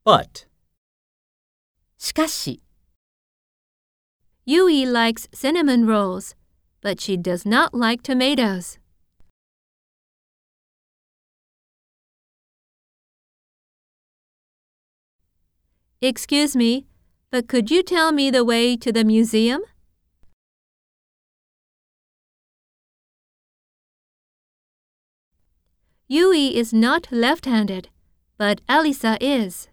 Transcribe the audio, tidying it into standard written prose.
But. しかし、 Yui likes cinnamon rolls, but she does not like tomatoes. Excuse me, but could you tell me the way to the museum? Yui is not left-handed, but Alisa is.